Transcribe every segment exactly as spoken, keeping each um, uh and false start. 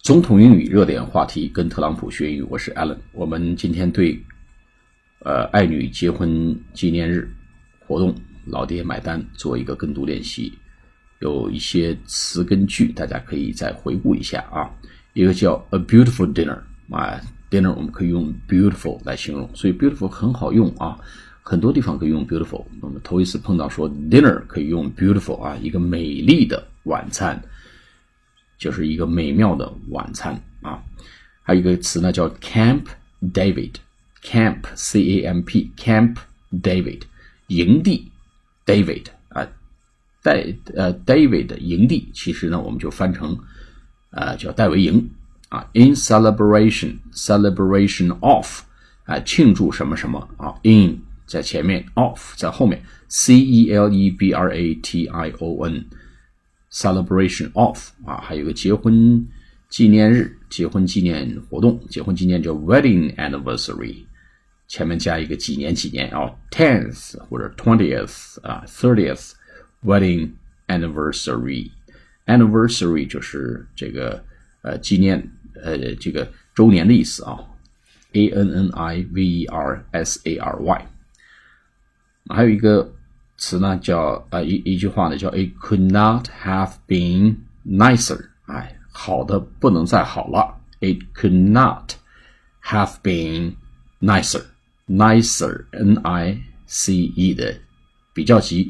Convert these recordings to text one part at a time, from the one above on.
总统英语热点话题，跟特朗普学英语，我是 Alan。我们今天对呃爱女结婚纪念日活动老爹买单做一个跟读练习，有一些词跟句大家可以再回顾一下啊。一个叫 a beautiful dinner 啊 dinner 我们可以用 beautiful 来形容，所以 beautiful 很好用啊，很多地方可以用 beautiful。我们头一次碰到说 dinner 可以用 beautiful 啊，一个美丽的晚餐，就是一个美妙的晚餐啊。还有一个词呢叫 Camp David Camp C A M P Camp David 营地 David 啊，戴呃 David 营地，其实呢我们就翻成呃叫戴维营啊。In celebration celebration of 啊，庆祝什么什么啊 in 在前面 of 在后面 C E L E B R A T I O N celebration of 啊，还有个结婚纪念日，结婚纪念活动，结婚纪念叫 wedding anniversary， 前面加一个几年几年啊 tenth 或者 twentieth 啊 thirtieth wedding anniversary anniversary 就是这个呃纪念呃这个周年的意思啊 A N N I V E R S A R Y。 还有一个词呢叫呃一一句话呢叫 It could not have been nicer， 哎，好的不能再好了。 It could not have been nicer nicer N I C E 的比较级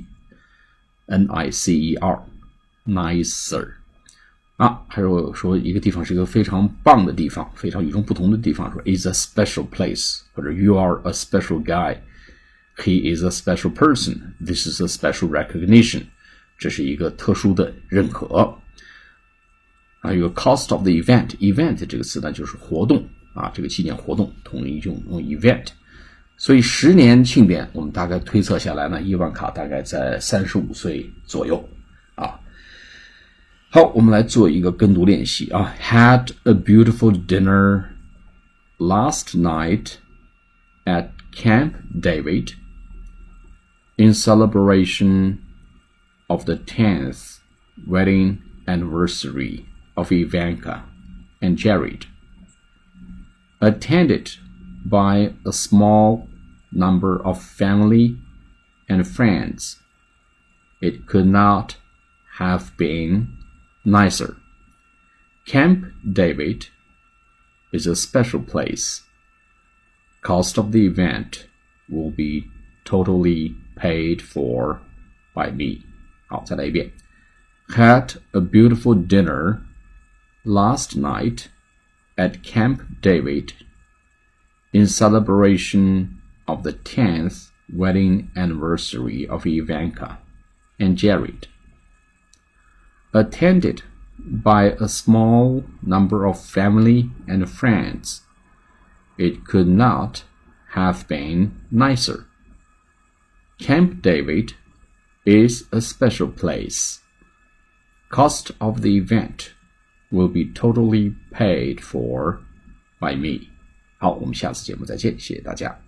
N I C E R nicer 啊。还有说一个地方是一个非常棒的地方，非常与众不同的地方，说 It's a special place， 或者 You are a special guy，He is a special person. This is a special recognition. 这是一个特殊的认可。还有一个 cost of the event. Event 这个词呢就是活动啊，这个纪念活动统一用用 event。所以十年庆典，我们大概推测下来呢，伊万卡大概在三十五岁左右啊。好，我们来做一个跟读练习啊。Had a beautiful dinner last night at Camp David.In celebration of the tenth wedding anniversary of Ivanka and Jared, attended by a small number of family and friends, it could not have been nicer. Camp David is a special place. Cost of the event will be totally paid for by me. 好，再来一遍。Had a beautiful dinner last night at Camp David in celebration of the tenth wedding anniversary of Ivanka and Jared. Attended by a small number of family and friends, it could not have been nicer.Camp David is a special place. Cost of the event will be totally paid for by me. 好，我们下次节目再见，谢谢大家。